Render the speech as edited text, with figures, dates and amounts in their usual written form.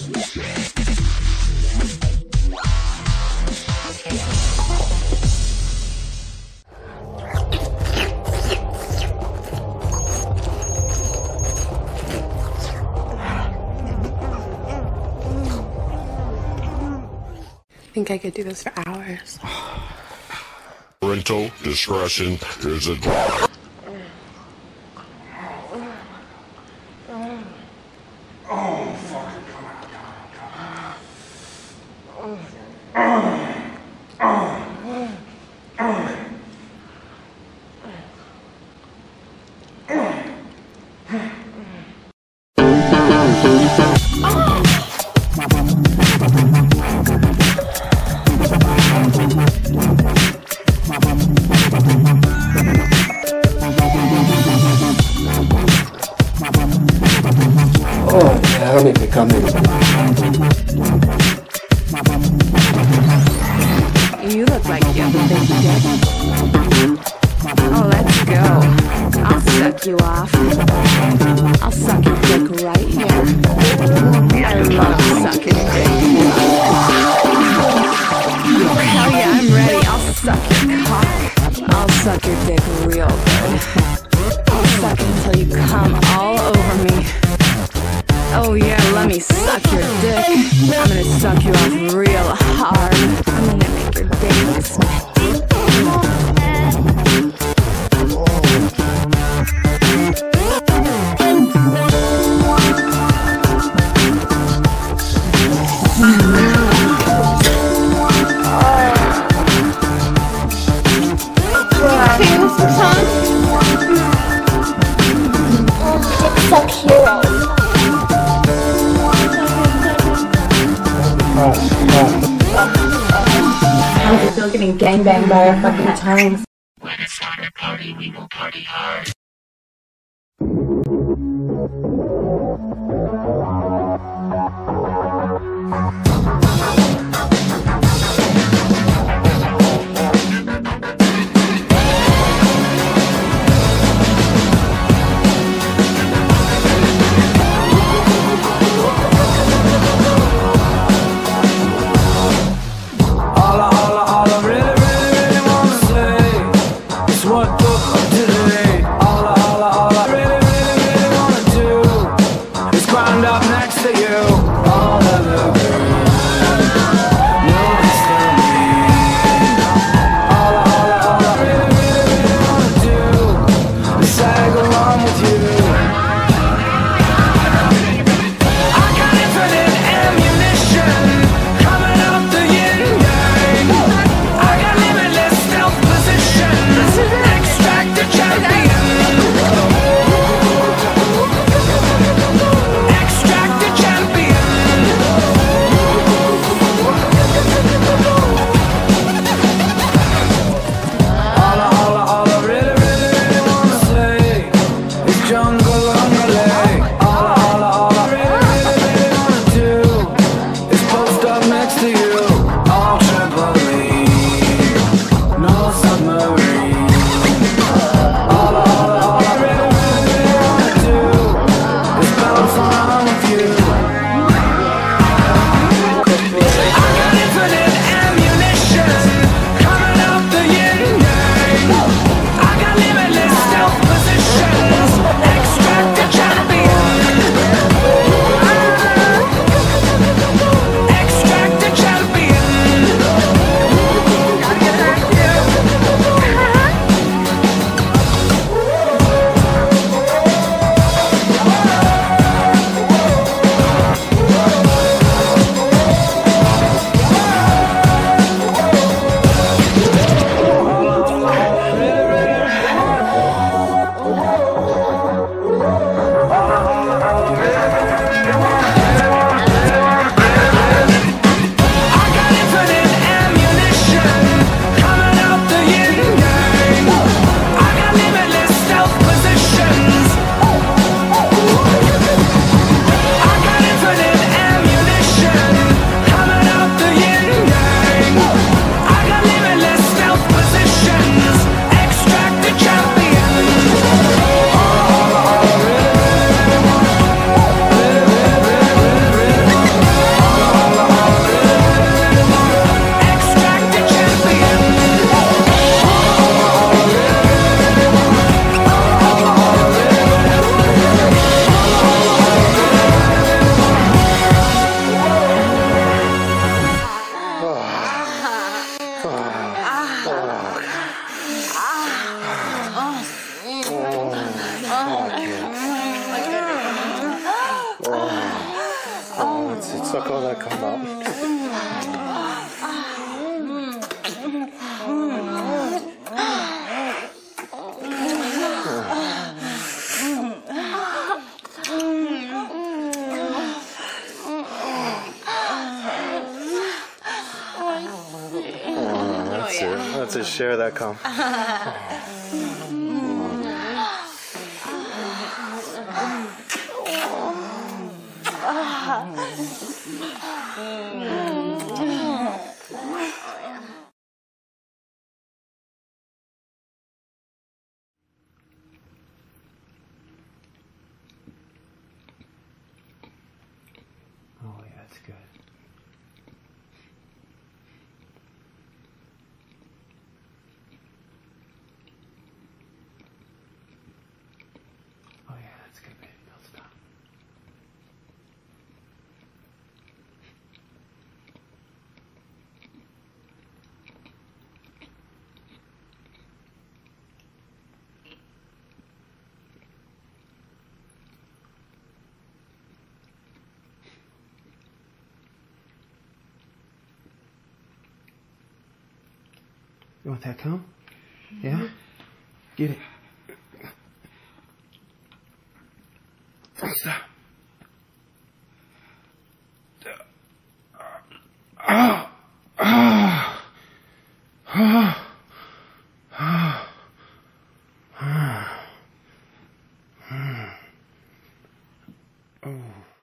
I think I could do this for hours. Parental discretion is a... Oh, yeah, I don't need to come in. You look like you have a big dick. Oh, let's go. I'll suck you off. I'll suck your dick right here. I love sucking dick. Hell yeah, I'm ready. I'll suck your cock. I'll suck your dick real good. I'll suck it until you come all over me. Oh yeah, let me suck your dick. I'm gonna suck you off real hard. I'm gonna make your dick sweat. Suck hero. How's it feel getting gangbanged by our fucking tongues? When it's time to party, we will party hard. let's suck all that cum out. That's it. Share that cum. Oh yeah, that's good. Oh yeah, that's good, baby. Don't stop. You want that cum? Yeah? Get it. Stop. Oh.